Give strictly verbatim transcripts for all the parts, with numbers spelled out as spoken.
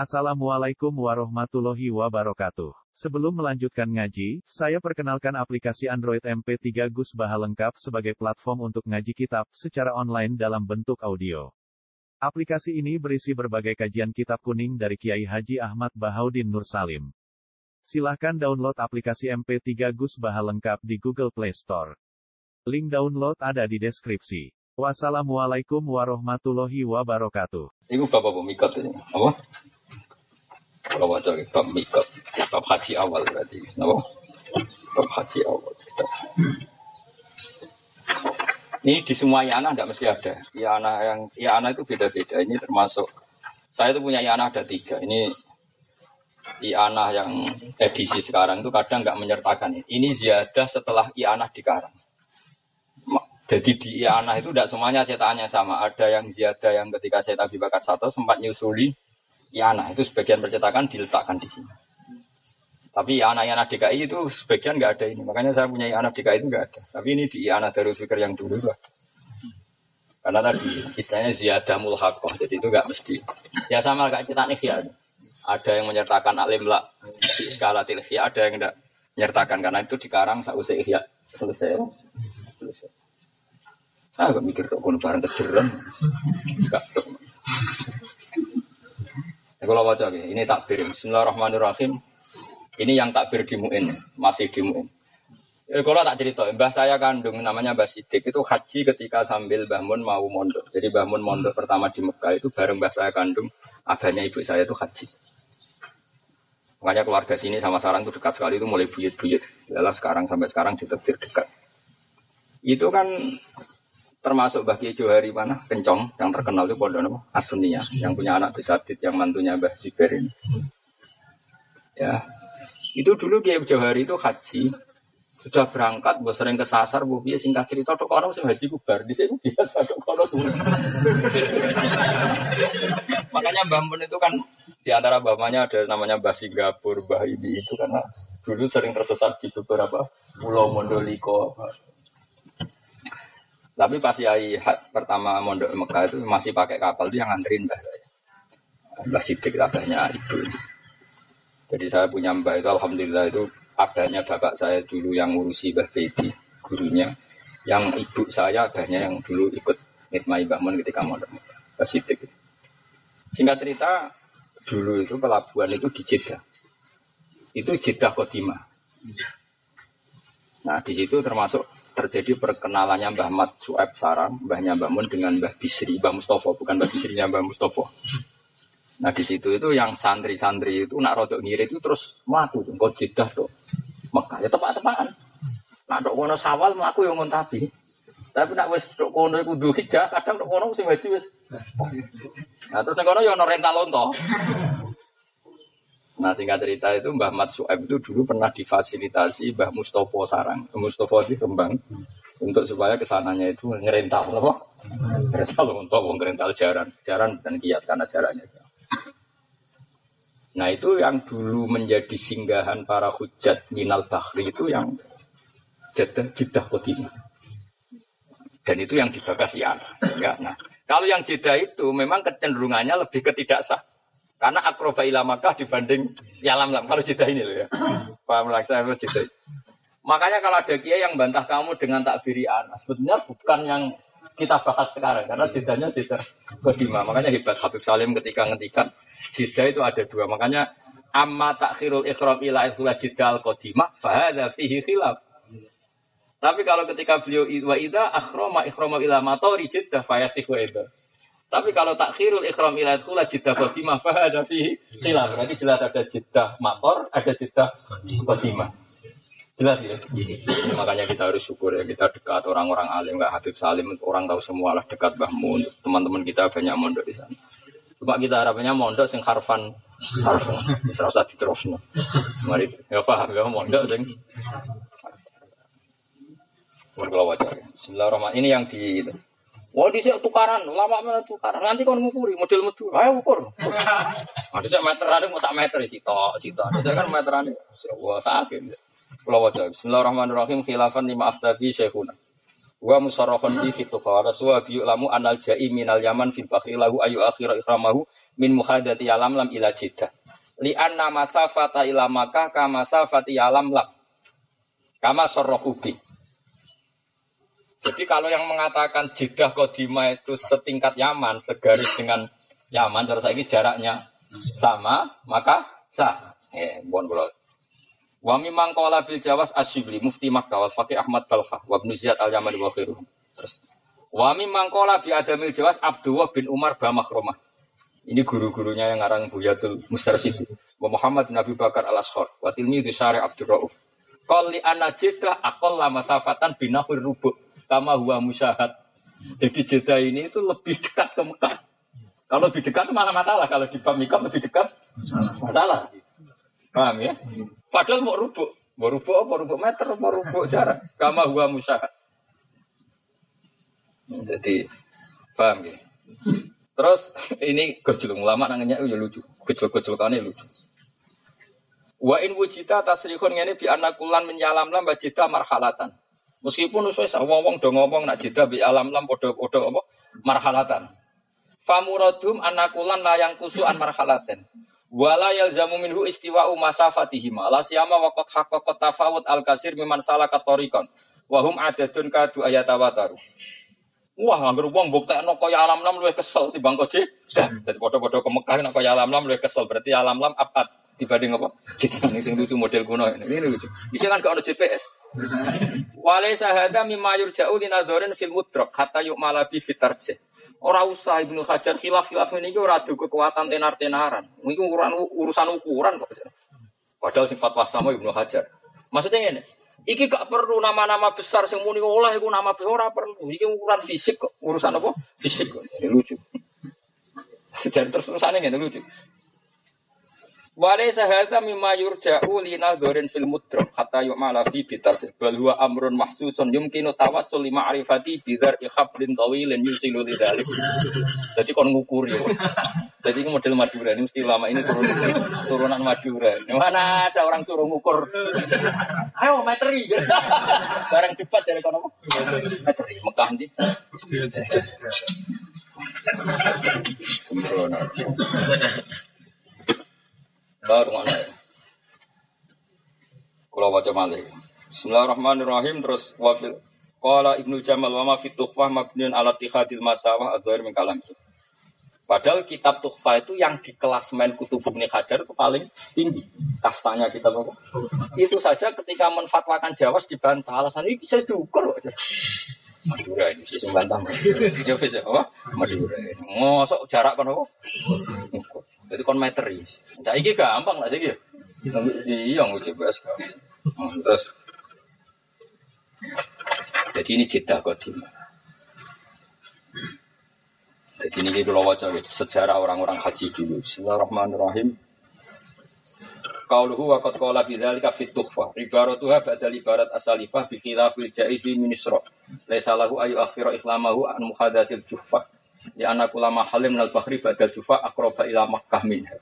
Assalamualaikum warahmatullahi wabarakatuh. Sebelum melanjutkan ngaji, saya perkenalkan aplikasi Android M P tiga Gus Baha lengkap sebagai platform untuk ngaji kitab secara online dalam bentuk audio. Aplikasi ini berisi berbagai kajian kitab kuning dari Kiai Haji Ahmad Bahaudin Nur Salim. Silahkan download aplikasi M P tiga Gus Baha lengkap di Google Play Store. Link download ada di deskripsi. Wassalamualaikum warahmatullahi wabarakatuh. Iku bapak pemikot ini, apa? Kalau baca bab mikot, bab haji awal berarti, apa? Bab haji awal. Ini di semua yana tidak mesti ada. Yana yang yana itu beda-beda. Ini termasuk saya itu punya yana ada tiga. Ini yana yang edisi sekarang itu kadang nggak menyertakan ini. Ini ziyadah setelah yana dikarang. Jadi di yana itu tidak semuanya cetakannya sama. Ada yang ziyadah yang ketika saya Abi Bakar satu sempat nyusuli yana itu sebagian percetakan diletakkan di sini. Tapi yana-yana D K I itu sebagian nggak ada ini. Makanya saya punya yana D K I itu nggak ada. Tapi ini di yana Darul Fikr yang dulu itu ada. Karena tadi istilahnya ziyadah mulhaqah. Jadi itu nggak mesti. Ya sama kayak cetak ikhya. Ada yang menyertakan alim la di skala tilfiyah, ada yang tidak menyertakan karena itu dikarang sausai ikhya selesai. Selesai. Ah, gak mikir kok kono barang kejeran. Enggak. Kalau baca ini takbir. Bismillahirrahmanirrahim. Ini yang takbir di Mu'in, masih di Mu'in. Eh, kalau tak cerita, mbah saya kandung namanya Mbah Sidik itu haji ketika sambil Mbah Mun mau mondok. Jadi Mbah Mun mondok pertama di Mekah itu bareng mbah saya kandung, abahnya ibu saya itu haji. Makanya keluarga sini sama sarang itu dekat sekali, itu mulai buyut-buyut. Yalah sekarang sampai sekarang ditafsir dekat. Itu kan termasuk Mbah Kiai Johari mana Kencong yang terkenal itu pondok As-Sunniyah yang punya anak Bisadid yang mantunya Mbah Ziber ini. Ya. Itu dulu Kiai Johari itu haji sudah berangkat, bos sering kesasar, bu biasa singkat cerita tok orang sing haji kubar di sini biasa tok kono turun. Makanya Mbah Mun itu kan di antara bapaknya ada namanya Mbah Singapura, Mbah ini itu karena dulu sering tersesat di beberapa pulau Mondoliko. Tapi pas Yai pertama mondok Mekah itu masih pakai kapal itu yang nganterin mbah saya. Mbah Sidik abahnya ibu. Jadi saya punya mbah itu alhamdulillah itu abahnya bapak saya dulu yang ngurusi Mbah Bedi, gurunya. Yang ibu saya abahnya yang dulu ikut ngitmai Mbah Mun ketika mondok Mekah. Mbah Sidik. Singkat cerita dulu itu pelabuhan itu di Jeddah. Itu Jeddah Qadimah. Nah di situ termasuk terjadi perkenalannya Mbah Mat Su'aib Sarang, mbahnya Mbah Mun dengan Mbah Bisri, Mbah Mustofa, bukan Mbah Bisrinya Mbah Mustofa. Nah di situ itu yang santri-santri itu nak rodok ngirit itu terus mlaku tuh, kok Jeddah tuh, Mekah ya tepak-tepakan. Nak dok kono Sawal mlaku yo ngontabi. Tapi nak wis dok kono iku Dzul Hijjah, kadang dok kono sing haji wis. Nah terus nek kono yo ono rental onto. Nah singkat cerita itu Mbah Mat Su'aib itu dulu pernah difasilitasi Mbah Mustofa Sarang, Mustofa di Rembang untuk supaya kesananya itu ngerental apa? Ngerental untuk ngerental jaran, jaran dan kias karena jarannya. Nah itu yang dulu menjadi singgahan para hujat minal bahri itu yang Jeddah Jeddah Qadimah. Dan itu yang dibakas ya. Nah kalau yang Jeddah itu memang kecenderungannya lebih ketidaksah. Karena akroba ila Makkah dibanding Yalamlam. Kalau Jeddah ini loh ya. Paham lah saya Jeddah. Makanya kalau ada kiai yang bantah kamu dengan takbiri anas, sebetulnya bukan yang kita bahas sekarang. Karena Jeddahnya Jeddah Qadimah. Makanya hebat Habib Salim ketika ngetikan Jeddah itu ada dua. Makanya amma takhirul ikhram ila ikhla Jeddah al-Qadimah fahadha fihi khilaf. Tapi kalau ketika beliau wa idza akhrama ikhrama ila matori Jeddah fayasihu idza. Tapi kalau takhirul ikhram ila ikhla Jeddah Qadimah fahadha fihi khilaf. Berarti jelas ada Jeddah mator, ada Jeddah Qadimah. Jelas ya. Makanya kita harus syukur ya, kita dekat orang-orang alim, enggak Habib Salim, orang tahu semua lah dekat Mbah Mun. Teman-teman kita banyak mondok di sana. Cuma kita harapannya mondok sing harfan harfan bisa usah diterusno. Mari ya paham ya mondok sing Warga wajar. Bismillahirrahmanirrahim. Ini yang di wah di sini tukaran, lama mana tukaran. Nanti kau ngukuri model metu. Ayo ukur. Ada saya meteran, mau sak meter itu, itu. Ada kan meteran. Wah sakit. Kalau wajar. Bismillahirrahmanirrahim. Khilafan lima afdaki syekhuna. Wa musarrafan bi fituqa. Rasulullah bi'lamu anal ja'i minal yaman fil bakhri lahu ayu akhira ikramahu min muhadati alam lam ila Jeddah. Li anna masafata ila Makkah kama masafati alam lam. Kama sarrahubi. Jadi kalau yang mengatakan Jeddah Qadimah itu setingkat Yaman, segaris dengan Yaman, terus lagi jaraknya sama, maka sah. Eh, bon bolot. Wa mimman qala bil Jawas Asyibli mufti Makkah wal Faqih Ahmad Balkha wa Ibnu Ziyad al-Yamani wa khairuhum. Terus wa mimman qala bi Adamil Jawas Abdullah bin Umar Bamakromah. Ini guru-gurunya yang ngarang Buyatul Mustarsyid. Wa Muhammad bin Abi Bakar al-Ashkhar wa tilmidhu Syarih Abdur Rauf. Qal li anna Jeddah aqalla masafatan binahur rubu' kama huwa musyahad. Jadi Jeddah ini itu lebih dekat ke Mekah. Kalau lebih dekat malah masalah, kalau di Bamikam lebih dekat masalah. Paham ya? Padahal mau rubuk, mau rubuk apa rubuk meter, mau rubuk jarak. Kama huwa musyahad. Jadi paham ya? Terus ini gojol ulama nangnya ya lucu, gojol-gojolane lucu. Wa in wujita tasrihun ngene bi anakulan menyalam lam Jeddah marhalatan. Meskipun wis wong-wong do ngomong nak Jeddah bi alam lam padha-padha apa marhalatan. Famuradhum anakulan layang kusuan marhalaten. Wala yalzamu minhu istiwa'u masafatihim ala siyama waqad haqqaqat tafawut al-kasir mimman salaka tariqan wa hum adadun kadu ayatawataru. Wah, anggere wong mbuktekno kaya alam lam luwih kesel timbang koje. Dadi padha-padha ke Mekah nek kaya alam lam luwih kesel, berarti alam lam abad dibanding apa? Jeddah sing lucu model kuno ini. Ini lucu. Bisa kan gak ono G P S. Walaysa hadza mimma yurja'u linadharin fil mudrak hatta yu'mala bi fitarjih. Ora usah Ibnu Hajar khilaf-khilaf ini ora adu kekuatan tenar-tenaran. Iki urusan urusan ukuran kok. Padahal sing fatwa sama Ibnu Hajar. Maksudnya ngene, iki gak perlu nama-nama besar sing muni oleh iku nama besar ora perlu. Iki ukuran fisik kok. Urusan apa? Fisik kok. Ini lucu. Jadi terus-terusane ngene lucu. Walaysa hadza mimma yurja'u linadharin fil mudrak hatta yu'mala fi bitarjih bal huwa amrun mahsusun yumkinu tawassul li ma'rifati bidhar ikhablin tawilin yusilu lidzalik. Jadi kon ngukuri. Jadi ini model Madura ini mesti lama ini turun turunan Madura. Mana ada orang turun ngukur. Ayo meteri. Barang debat dari kono. Meteri Mekah ndi? Sembrono. Baru mana? Kalau baca malih. Bismillahirrahmanirrahim. Terus wafil. Qala Ibnu Jamal wa ma fi tuhfah mabniun ala ittihadil masawah adzair min kalam. Padahal kitab tuhfah itu yang di kelasmen Kutub Ibnu Hajar itu paling tinggi. Kastanya kitab apa? Itu saja ketika menfatwakan Jawas dibantah. Alasan ini bisa diukur aja. Madura ini sih bantah. Ya wis apa? Madura. Mosok jarak kan apa? Jadi kon meteri. Saiki gampang lah saiki. Iya nguji G P S. Terus jadi ini Jeddah Qadimah. Jadi ini kalau waca sejarah orang-orang haji dulu. Bismillahirrahmanirrahim. Qauluhu wa qad qala bi dzalika fit tuhfah. Ibaratuha badal ibarat asalifah bi khilafil jaidi min isra. Laisa lahu ayu akhira ikhlamahu an muhadatil juhfah. Di anak ulama halim nal bahri badal jufa akroba ila Makkah minha.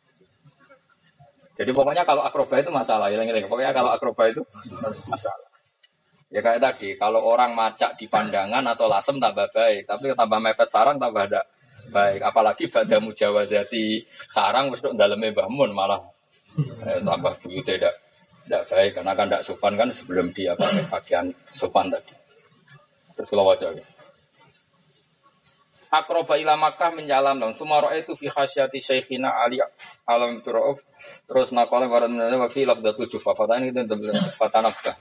Jadi pokoknya kalau akroba itu masalah, ilang-ilang. Pokoknya kalau akroba itu masalah. Ya kayak tadi, kalau orang macak di pandangan atau lasem tambah baik, tapi tambah mepet sarang tambah ada baik. Apalagi pada mujawazati sarang wis tok daleme Mbah Mun malah eh, tambah begitu tidak tidak baik karena kan tidak sopan kan sebelum dia pakai pakaian sopan tadi. Terus kalau wajah. Akroba ila Makkah menjalam dong. Sumaro itu fi khasyati Syekhina Ali Alam Turauf. Terus naqala warad min wa fi lafdatul jufa. Fatane itu fatanabka.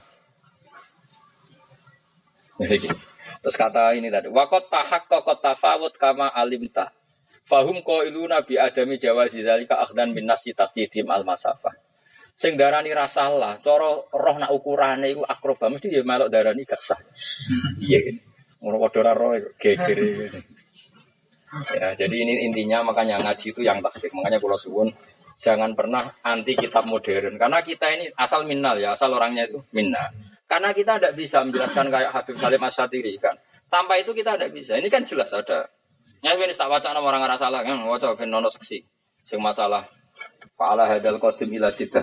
Terus kata ini tadi, waqat tahaqqaqa tafawut kama alimta. Fahum qailuna bi adami jawazi zalika akhdan bin nasi taqdim al masafah. Sing darani rasalah, cara roh nak ukurane iku akroba mesti ya melok darani gak sah. Iya gitu. Ngono padha ora roh geger iki. Ya, jadi ini intinya makanya ngaji itu yang takdir. Makanya kalau suwun jangan pernah anti kitab modern. Karena kita ini asal minnal ya, asal orangnya itu minna. Karena kita tidak bisa menjelaskan kayak Habib Salim Asy-Syatiri kan. Tanpa itu kita tidak bisa. Ini kan jelas ada. Ya ini tak baca nama orang nggak salah kan. Waca ben ono seksi. Sing masalah fa'ala hadal qadim ila Jeddah.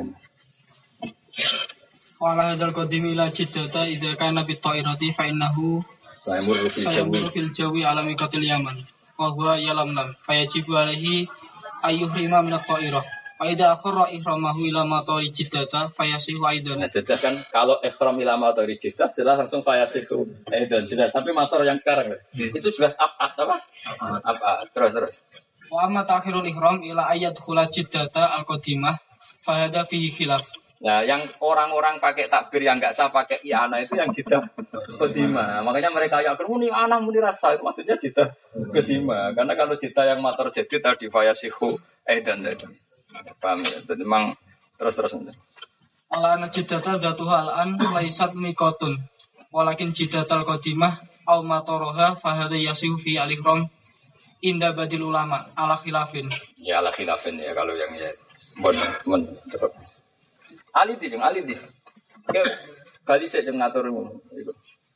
Fa'ala hadal qadim ila Jeddah idza kana bi ta'irati fa innahu sayamur fil jawi alami qatil Yaman. Wa huwa yalam lam fayajibu alaihi ayyuhrima min at-ta'irah. Fa idza akhara ihramahu ila matari jiddata fayasihu aidan. Nah, jelas kan kalau ihram ila matari jiddah jelas langsung fayasihu aidan jelas. Tapi motor yang sekarang itu jelas apa apa? Apa? Terus terus. Wa amma ta'khirul ihram ila ayyadkhula jiddata al-qadimah fa hada fihi khilaf. Nah, yang orang-orang pakai takbir yang enggak sah pakai i'anah itu yang jiddah qadimah. Makanya mereka yakin muni ana muni rasa itu maksudnya jiddah qadimah. Karena kalau jiddah yang motor jadid tadi fayasihu aidan tadi. Paham ya? Jadi memang terus-terus nanti. Ala anna jiddata dzatuha al-an laisat miqatun. Walakin jiddatal qadimah aw mataraha fa hada yasihu fi al-ihram inda badil ulama ala khilafin. Ya ala khilafin ya kalau yang ya bon men. Ali di jeung ali di. Oke, kali saya jeung ngatur iku.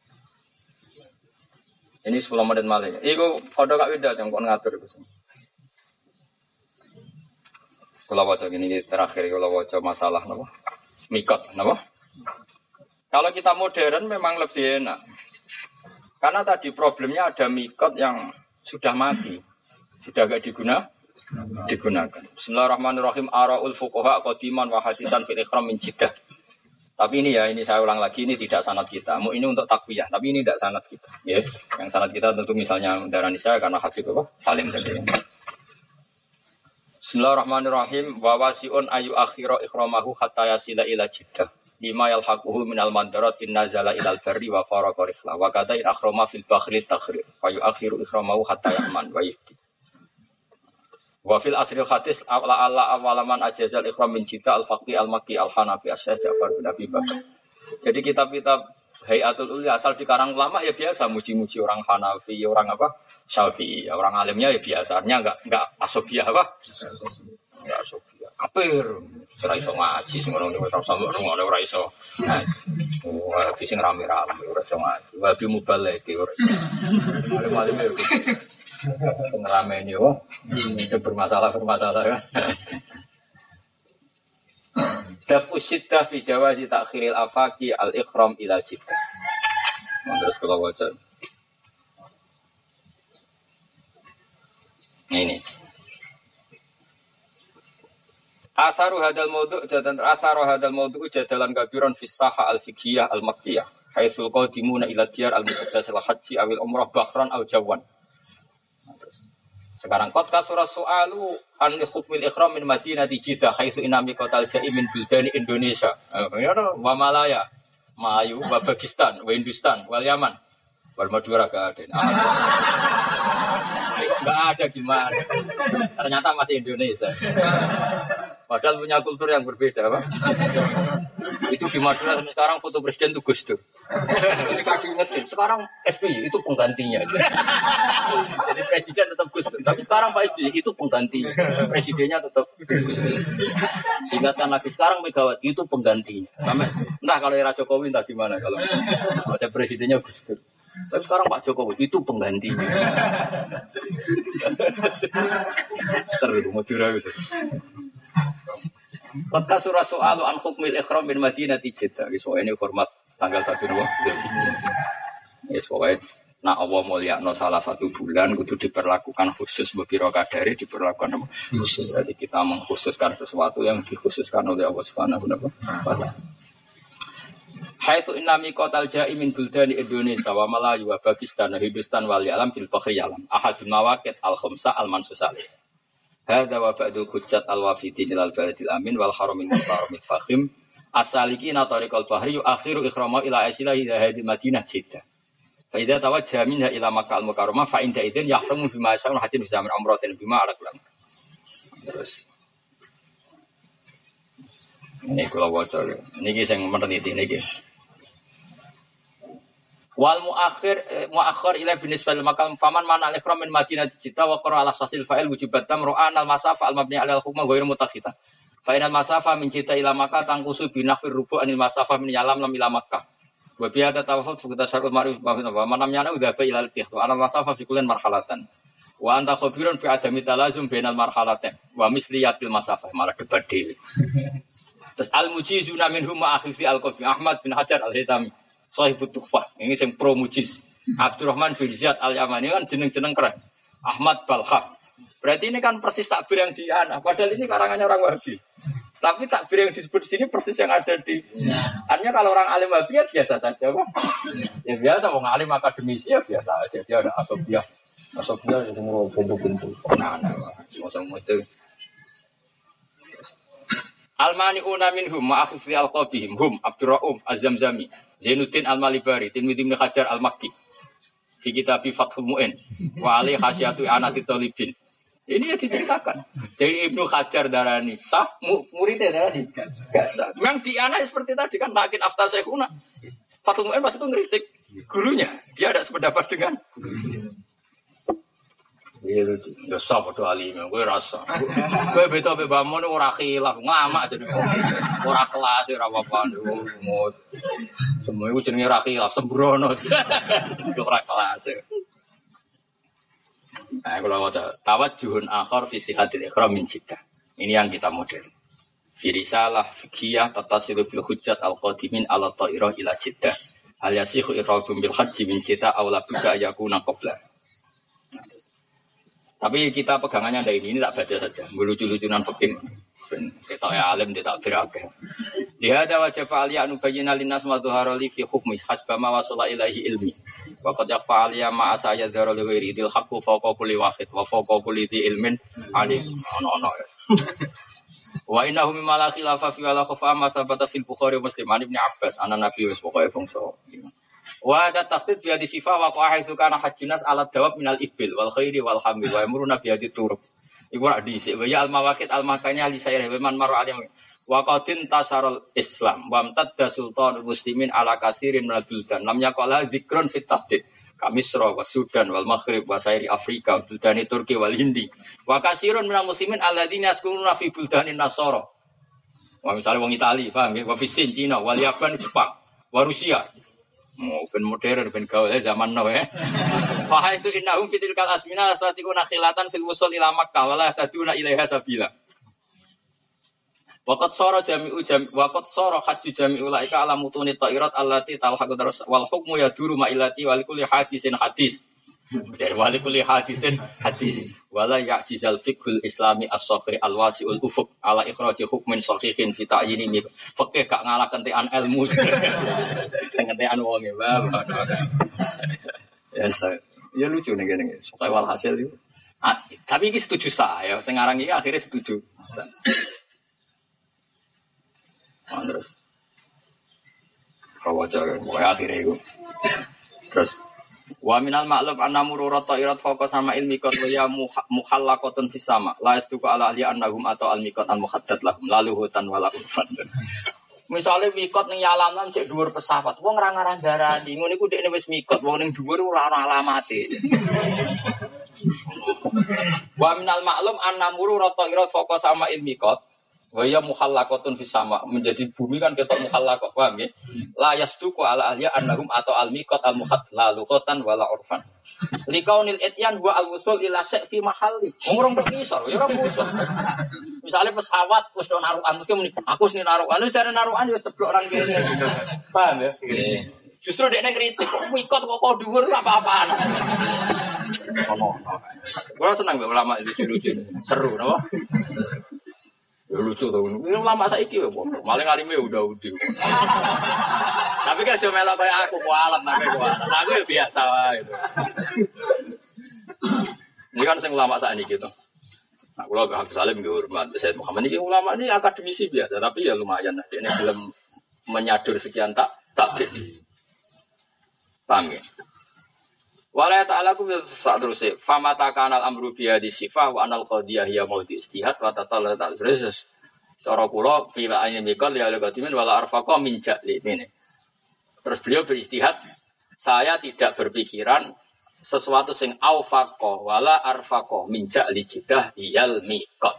Ini sepuluh menit malih. Iku padha kak Wida jeung kon ngatur iku. Kula waca gini terakhir kula waca masalah napa? Mikot napa? Kalau kita modern memang lebih enak. Karena tadi problemnya ada mikot yang sudah mati. Sudah enggak diguna digunakan. Bismillahirrahmanirrahim. Araul fuqaha qadiman wa hadisan fil ihram min jiddah. Tapi ini ya, ini saya ulang lagi, ini tidak sanad kita. Ini untuk takwiyah, tapi ini tidak sanad kita. Ya, yang sanad kita tentu misalnya darah nisa karena Habib apa? Salim saja. Bismillahirrahmanirrahim. Wa wasi'un ayu akhira ikramahu hatta yasila ila jiddah. Lima yalhaquhu minal mandarat inna zala ilal barri wa faraqa rifla. Wa kadha in akhrama fil bakhri takhrir. Wa yu akhiru ikramahu hatta ya'man wa yufti. Wa fil asril hadis ala ala awalaman ajazal ikhram min jiddah al-faqih al-makki al-hanafi as-syekh Ja'far bin Abi Bakar. Jadi kitab-kitab Hayatul Ulya asal di karang ulama ya biasa muji-muji orang Hanafi, orang apa? Syafi'i. Orang alimnya ya biasanya enggak enggak asobiah apa? Enggak asobiah. Kafir. Ora iso ngaji sing ngono wis ora sampe ngono ora iso. Wah, sing rame-rame ora iso ngaji. Wabi mubalek ora iso. Alim-alim ya gitu. Pengelameni yo. Sing bermasalah-bermasalah. Dafu syiddah fi jawazi ta'khiril afaqi al-ikhram ila jiddah. Terus kalau baca ini asaru hadal mawdu' jatan asaru hadal mawdu' jadalan kabiran fi sahha al-fiqhiyah al-makkiyah haitsul qadimuna ila diyar al-muqaddas al-haji awil umrah bahran aw jawan. Sekarang qad kasura su'alu an hukmil ikhram min Madinati Jiddah haitsu inami qatal ja'i min buldani Indonesia. Ya wa Malaya, Melayu, wa Pakistan, wa Hindustan, wal Yaman. Wal Madura gak ada. Enggak ada gimana. Ternyata masih Indonesia. Padahal punya kultur yang berbeda, Pak. Itu di Madura sekarang foto presiden itu Gus Dur. Ketika diingetin, sekarang S B Y itu penggantinya. Jadi presiden tetap Gus Dur, tapi sekarang Pak S B Y itu penggantinya. Presidennya tetap Gus Dur. Diingatkan lagi sekarang Megawati itu penggantinya. Sampai, entah kalau era Jokowi entah gimana kalau ada presidennya Gus Dur. Tapi sekarang Pak Jokowi itu penggantinya. Seru Madura gitu. Maka surah soal an hukmil ikhram bin Madinati Jiddah. So ini format tanggal satu dua. Yes, pokoknya nak Allah mulyakno salah satu bulan kudu diperlakukan khusus beberapa kadari diperlakukan khusus. Jadi kita mengkhususkan sesuatu yang dikhususkan oleh Allah Subhanahu wa taala. Haitsu inna miqatal ja'i min buldani Indonesia wa Melayu wa Pakistan wa Hindustan wal alam fil fakhri alam. Ahadul mawaqit al-khamsa al-mansusah. Hadza wa ba'dul hujjat al-wafidin ilal baladil amin wal haramil muharramil fakhim as-salikina tariqal bahri akhiru ikhrama ila asila ila hadil madinah Jiddah. Fa idza tawajjaha minha ila Makkah al-Mukarramah fa inda idzin yahramu bima sya'un hadin bisa min umratin bima ala kulam. Terus ini kula waca niki sing meneliti niki. Wal muakhir muakhir ila binisbal makam faman man al-ikhram min Madinah Jiddah wa qara ala sasil fa'il wujubat tamru'an al-masafa al-mabni ala al-hukma ghairu mutakhita. Fa inal masafa min Jiddah ila Makkah tangkusu bi nahfir rubu' anil masafa min Yalam lam ila Makkah. Wa bi hada tawafut fi tasarruf ma'ruf wa man lam yana udaba ila al-fiqh wa ala masafa fi kullin marhalatan. Wa anta khabirun fi adami talazum bainal marhalatain wa misliyatil masafa malah debat dhewe. Terus al-mujizuna minhum ma'akhifi al-qafi Ahmad bin Hajar al-Haytami. Sahibut Tuhfah, ini yang pro mujiz. Abdurrahman bin Ziyad al-Yamani kan jeneng-jeneng keren. Ahmad Balkha, Berarti ini kan persis takbir yang di Ana. Padahal ini karangannya orang Wahabi. Tapi takbir yang disebut di sini persis yang ada di. Artinya kalau orang alim Wahabi ya biasa saja, Pak. Ya biasa, orang alim akademisi ya biasa aja. Dia ada asobiah. Asobiah yang semua bentuk-bentuk. Nah, nah, semua itu. Al-mani'una minhum ma'akhifri al-qabihim hum Abdurra'um Az-Zamzami Zainuddin Al-Malibari Tirmidzi bin Hajar Al-Makki fi kitab Fathul Mu'in wa ali khasyatu anati talibin. Ini ya diceritakan. Jadi Ibnu Hajar darani sah, muridnya darani gak sah. Memang di anak seperti tadi kan lakin afta syekhuna. Fathul Mu'in pas itu ngeritik gurunya. Dia ada sependapat dengan iya lucu. Ya sah padha alim, kowe rasa. Kowe beda mbek mbahmu ora khilaf, ngamak jenenge. Ora kelas ora apa-apa. Semua iku jenenge ora khilaf, sembrono. Ora kelas. Nah, kalau waca tawajjuhun akhar fi sihatil ikhram min jiddah. Ini yang kita model. Fi risalah fiqhiyah tatasilu bil hujjat al-qadimin ala ta'irah ila jiddah. Hal yasihu iradum bil haji min jiddah aw la buka yakuna qabla. Tapi kita pegangannya ada ini, ini tak baca saja. Lucu-lucunan fikih. Kita ya alim dia tak berapa. Dia ada wajah fa'aliyah nubayyina linnas ma dhuhara li fi hukmi hasba ma wasala ilaihi ilmi. Wa qad yaqfa'aliyah ma asaya dhara li ghairi dil haqqu fawqa kulli wahid wa fawqa kulli dhi ilmin alim. Ono-ono. Wa innahu mimma la khilafa fi wala khafa ma thabata fil Bukhari Muslim an Ibnu Abbas ana Nabi wis pokoke bangsa. Wa ada tahdid biadi sifah wa qa'idu kana hajjunas ala dawab minal ibil wal khairi wal hamil wa amruna biadi turub. Iku rak dhisik wa ya al mawaqit al makanya li sayr man maru alim wa qadin tasarul islam wa amtadda sultanul muslimin ala katsirin minal buldan lam yaqala dzikrun fit tahdid kamisra wa sudan wal maghrib wa sayri afrika buldani turki wal hindi wa katsirun minal muslimin alladzina yaskununa fi buldanin nasara. Wa misalnya wong Itali, paham nggih, wa fi Sin Cina wal Yapan Jepang wa Rusia. Oh, ben modern ben gaul zaman now ya. Fa itu innahum fitil kal asmina satikuna khilatan fil wusul ila Makkah wala taduna ilaiha sabila. Waqat sara jami'u jami' waqat sara hajju jami'u laika ala mutuni ta'irat allati talhaqu terus wal hukmu yaduru ma illati wal kulli hadisin hadis. Dari wal kulli hadisin hadis. Wala ya'jizal fiqhul islami as-sahih al-wasi'ul ufuq ala ikhraji hukmin sahihin fi ta'yini fikih gak ngalah kentekan ilmu. Sing kentekan wong e, Mbak. Ya, ya lucu nih gini. Supaya walhasil itu. Ah, tapi ini setuju saya. Sing aran iki akhirnya setuju. Nah, terus. Kalau aja pokoknya akhirnya itu. Terus wa minal ma'lum anna mururat ta'irat fawqa sama ilmikot wa ya muhallaqatun fis sama la yastuqu ala ahli annahum atau almikot an muhaddad lahum lalu hutan wala urfan. Misale mikot ning yalaman cek dhuwur pesawat wong ora ngarah darani ngono iku dekne wis mikot wong ning dhuwur ora ana alamate. Wa minal ma'lum anna mururat ta'irat fawqa sama ilmikot wa ya muhallaqatun fis sama menjadi bumi kan ketok muhallaqah paham nggih la yasduqu ala ahli annahum atau al miqat al muhadd la luqatan wala urfan liqaunil ityan wa al wusul ila sy' fi mahalli urung berpisah ya ora musuh misale pesawat wis do narukan terus muni aku sing narukan wis dari narukan ya teblok orang kene paham ya justru dekne kritik kok miqat kok kok dhuwur apa-apaan ono ora seneng ulama itu lucu seru napa. Ya lucu tuh, ini lama saiki ya, maling alimnya udah udah. Tapi kan cuma melok kayak aku kualat, tapi kualat. Aku ya biasa lah itu. Ini kan sing ulama saat ini gitu. Nah, kalau Habib Salim hormat, Sayyid Muhammad ini ulama ini akademisi biasa, tapi ya lumayan. Ini belum menyadur sekian tak takdir. Paham ya? Wala ta'ala ku sak terus e famata kanal amru biya di sifah wa anal qadiyah ya maudi istihad wa tatalla ta terus cara kula fi ayat mikal ya al-qadimin wala arfaqa min ja'li ini. Terus beliau beristihad saya tidak berpikiran sesuatu sing aufaqa wala arfaqa min ja'li jidah yal miqat.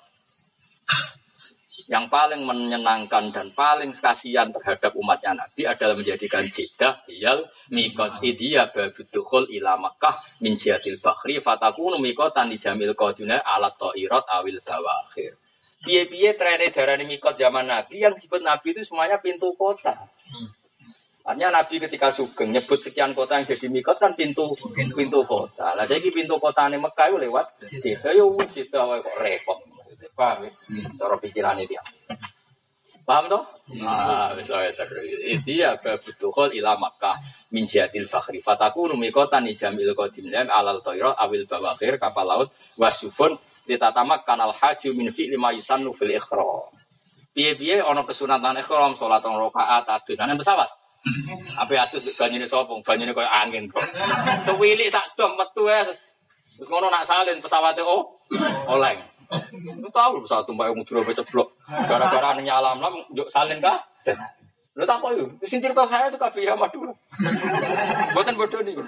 Yang paling menyenangkan dan paling kasihan terhadap umatnya Nabi adalah menjadikan jidah hiyal miqat idhiya babudukhul ila Makkah min jihadil bakhri fatakunu miqatan di jamil qaduna ala ta'irat awil bawakhir. Piye-piye trene darane miqat zaman Nabi yang disebut Nabi itu semuanya pintu kota. Artinya Nabi ketika sugeng nyebut sekian kota yang jadi mikot kan pintu pintu kota. Lah saiki pintu kotane Mekah yo lewat Jeddah yo wis Jeddah wae kok repot. Paham ya? Cara pikirane dia. Paham toh? Nah, wis wae iki ya kebutuhan ila Makkah min jihadil fakhri. Fatakunu mikotan jamil qadim lam alal tayra awil bawakhir kapal laut wasufun ditatamak kanal haji min fi lima yusannu fil ikhram. Piye-piye ana kesunatan ikhram salat rong rakaat adunan pesawat. Ape atuh banyune sapa? Banyune koyo angin kok. Tuwilik sak dom metu wis. Terus ngono nak salin pesawate oh oleng. Lu tahu pesawat tumpah mudura ceblok. Gara-gara nyalam-lam njuk salin kah? Lu tak kok yo. Sing cerita saya itu kabeh ya Madura. Mboten bodoh niku.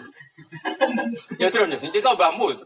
Ya terus sing cerita mbahmu.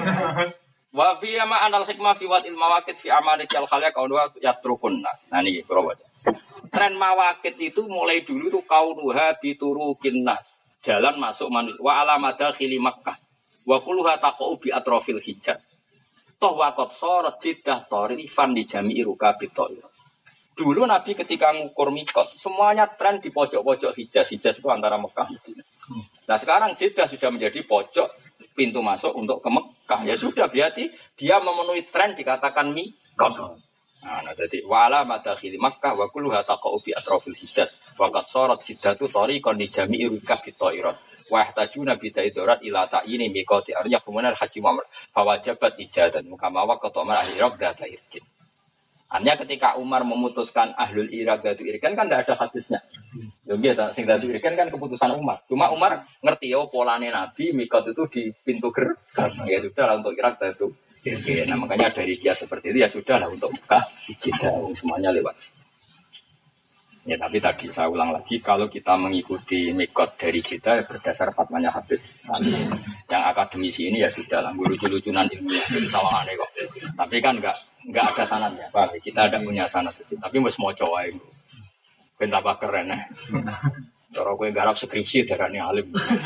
Wa fi ma anal hikmah fi wal mawaqit fi amalati al khaliq kaunu yatrukunna. Nah niki kula baca. Tren mawakit itu mulai dulu itu kaunuha biturukin nas. Jalan masuk manusia. Wa alamada khili Makkah. Wa kuluha taqa'u bi atrofil hijab. Toh wakot sorot jidah torifan di jami'i rukabit to'ir. Dulu Nabi ketika ngukur mikot, semuanya tren di pojok-pojok hijaz. Hijaz itu antara Mekah. Nah sekarang jidah sudah menjadi pojok pintu masuk untuk ke Mekah. Ya sudah berarti dia memenuhi tren dikatakan mikot. Nah, jadi wala madakhili Makkah wa kulluha taqa'u bi atrafil hijaz wa qad sarat siddatu tariqan li jami'i rukab bitairat wa yahtajuna bi tairat ila ta'yini miqati arya kemudian haji Muhammad fa wajabat ijadan kama waqata Umar al-Iraq data irkin. Hanya ketika Umar memutuskan ahlul Iraq datu irkan kan tidak ada hadisnya. Ya nggih sing datu irkan kan keputusan Umar. Cuma Umar ngerti ya polane Nabi miqat itu di pintu gerbang. Ya sudah untuk Iraq datu. Oke, nah makanya dari dia seperti itu ya sudah lah untuk Mekah kita semuanya lewat. Ya tapi tadi saya ulang lagi kalau kita mengikuti mikot dari kita ya, berdasar fatwanya Habib Salis. Yang akademisi ini ya sudah lah lucu-lucunan ilmiah itu sama aneh kok. Tapi kan enggak enggak ada sanadnya, Pak. Kita ada punya sanad itu. Tapi wis maca wae. Ben tambah keren ya. Cara kowe garap skripsi darane alim.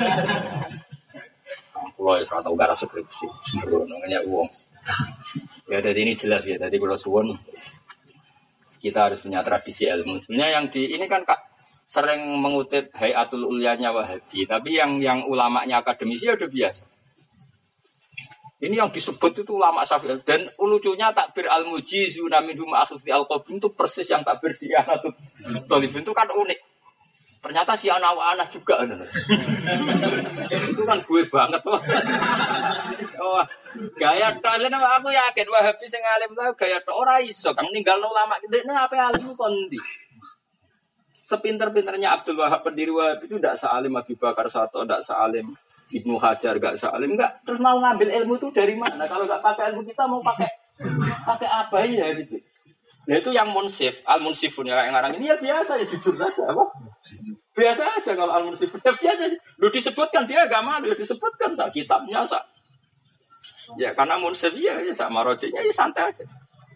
Kalau ya tahu garap skripsi, namanya uang. Ya dari ini jelas ya. Jadi kalau suwon kita harus punya tradisi ilmu. Sebenarnya yang di ini kan kak sering mengutip Hayatul Ulyanya Wahabi, tapi yang yang ulamanya akademisi ya udah biasa. Ini yang disebut itu ulama Syafi'i dan lucunya takbir al-mujizuna minhum akhfi al-qabim itu persis yang takbir di Anatul Talibin itu kan unik. Ternyata si anak-anak juga. Itu kan gue banget. Oh, gaya tok aku yakin Wahabi sing alim lah gaya tok ora iso kang ninggalno ulama gede nah apa alim kondi. Sepinter-pinternya Abdul Wahab pendiri Wahabi itu ndak sealim Abu Bakar Sato, ndak sealim Ibnu Hajar, enggak sealim enggak. Terus mau ngambil ilmu itu dari mana? Kalau enggak pakai ilmu kita mau pakai pakai apa ya gitu. Nah itu yang munsif, al-munsifun yang ngarang ini ya biasa ya jujur aja apa? Biasa aja kalau al-munsifun ya biasa. Lu disebutkan dia agak malu, disebutkan tak kitabnya sak. Ya karena munsif ya, ya sama rojinya ya santai aja.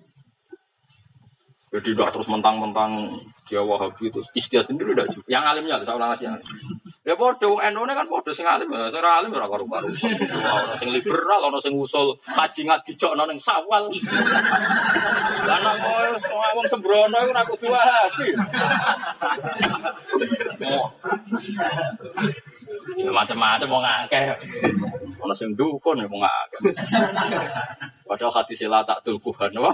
Jadi udah terus mentang-mentang dia Wahabi itu istiadat sendiri udah juga. Yang alimnya saya ulang lagi yang. Ya bodoh, Eno kan bodoh sing alim, sing alim ora karo-karo. Ono sing liberal, ono sing usul kaji ngat dijokno ning sawal. Lah nek wong sembrono iku ora kudu Wahabi. Ya macam-macam wong akeh. Ono sing dukun wong akeh. Padahal hati sila tak tulkuhan wah.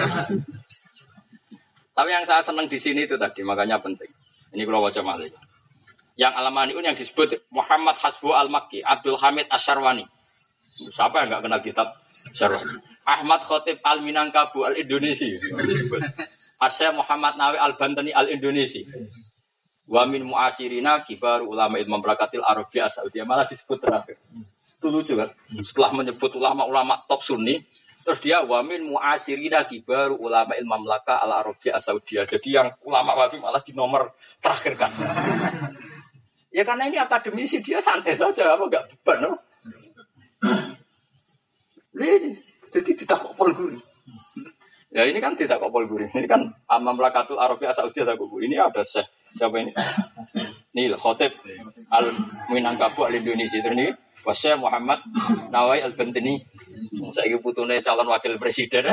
Tapi yang saya senang di sini itu tadi, makanya penting. Ini kalau baca malih. Yang Al-Mani'un yang disebut Muhammad Hasbu Al-Makki, Abdul Hamid Asyarwani. Siapa yang enggak kenal kitab Asyarwani? Ahmad Khotib Al-Minangkabu Al-Indonesi. Asyar Muhammad Nawi Al-Bantani Al-Indonesi. Wa min mu'asirina kibaru ulama ilmu berakatil Arabia Saudi. Malah disebut terakhir. Itu lucu kan? Setelah menyebut ulama-ulama top Sunni, terus dia wamin mu'asirina kibaru ulama ilmu mamlaka ala Arabia Saudi. Jadi yang ulama Wahabi malah di nomor terakhir kan. Ya karena ini akademisi dia santai saja, apa enggak beban, no? Ini jadi tidak kopol guru. Ya ini kan tidak kopol guru. Ini kan mamlakatul Arabia Saudi ada guru. Ini ada Syekh siapa ini? Nih Khotib Al-Minangkabu Al-Indonesia itu nih. Wasya Muhammad Nawai Al-Bantani. Saya putune calon wakil presiden.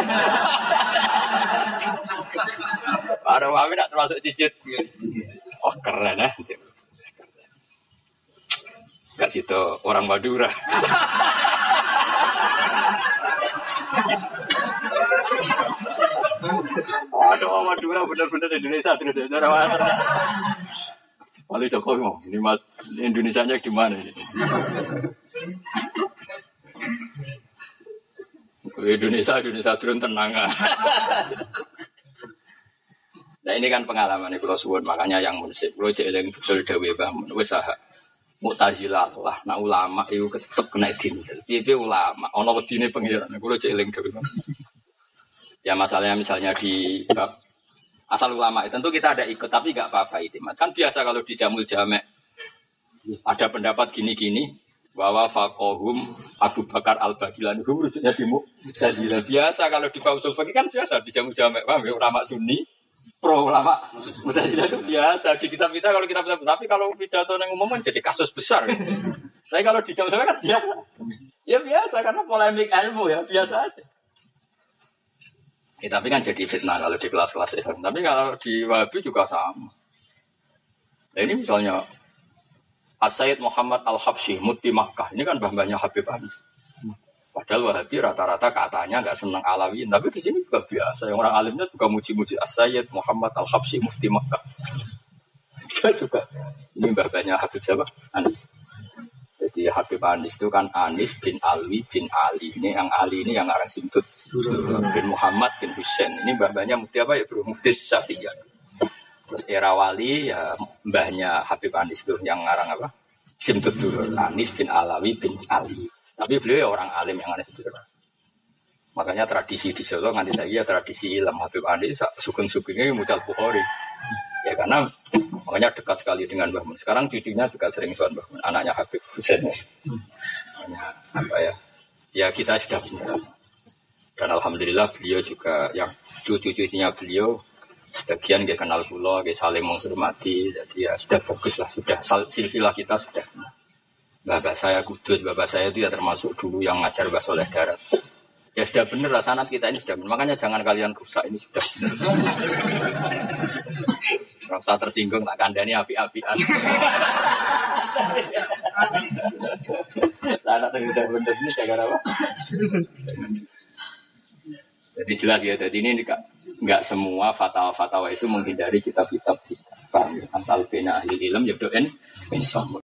Ada Wahabi nak termasuk cicit. Oh keren ya. Gak situ orang Madura. Aduh, Madura benar-benar Indonesia terus orang. Wali Jokowi mau, ini mas Indonesianya gimana ini? Indonesia, Indonesia turun tenang. Nah ini kan pengalaman kalau suwun, makanya yang munsip, kalau jeeling betul dewe bangun, usaha Mu'tazilah lah, nah ulama itu tetap kena dintel. Piye ulama, ono wedine pengiran, kalau jeeling dewe bangun. Ya masalahnya misalnya di asal ulama itu tentu kita ada ikut, tapi nggak apa-apa itu. Kan biasa kalau di Jamul Jamek ada pendapat gini-gini bahwa fakohum Abu Bakar Al-Bagilani itu rujuknya di Mu'tazilah. Biasa kalau di Pausul Fakih kan biasa di Jamul Jamek, paham ya, ulama Sunni pro ulama Mu'tazilah itu biasa di kitab kita kalau kita tapi kalau pidato yang umum kan jadi kasus besar. Tapi kalau di Jamul Jamek kan biasa. Ya biasa karena polemik ilmu ya biasa aja. Ya, tapi kan jadi fitnah kalau di kelas-kelas Islam. Tapi kalau di Wahabi juga sama. Nah, ini misalnya As-Sayyid Muhammad Al-Habsyi, Mufti Makkah. Ini kan mbah-mbahnya Habib Anis. Padahal Wahabi rata-rata katanya nggak senang Alawiyin. Tapi di sini juga biasa. Yang orang alimnya juga muji-muji As-Sayyid Muhammad Al-Habsyi, Mufti Makkah. Dia juga. Ini mbah-mbahnya Habib siapa? Anis. Jadi Habib Anis itu kan Anis bin Alwi bin Ali. Ini yang Ali ini yang arang Simtut. Bin Muhammad bin Husain. Ini mbah-mbahnya mufti apa ya bro? Mufti Syafi'iyah. Terus era wali ya mbahnya Habib Anis itu yang arang apa? Simtut dulu. Anis bin Alawi bin Ali. Tapi beliau ya orang alim yang Anis itu. Makanya tradisi di Solo nanti saya tradisi ilmu Habib Anis sugeng-sugengnya mucal Bukhari. Ya karena makanya dekat sekali dengan Mbah Mun. Sekarang cucunya juga sering soal Mbah Mun, anaknya Habib Husain. Makanya apa ya? Ya kita sudah punya. Dan alhamdulillah beliau juga yang cucu-cucunya beliau sebagian dia kenal kula, dia saling menghormati. Jadi ya sudah bagus lah, sudah silsilah kita sudah. Bapak saya kudus, bapak saya itu ya termasuk dulu yang ngajar Mbah Soleh Darat. Ya sudah benar lah sanad kita ini sudah benar. Makanya jangan kalian rusak ini sudah benar. Rasa tersinggung tak kandani api-apian. Sanad yang sudah benar ini gara apa? Jadi jelas ya. Jadi ini enggak, enggak semua fatwa-fatwa itu menghindari kitab-kitab kita. Paham ya? Asal bina ahli ilm ya doen.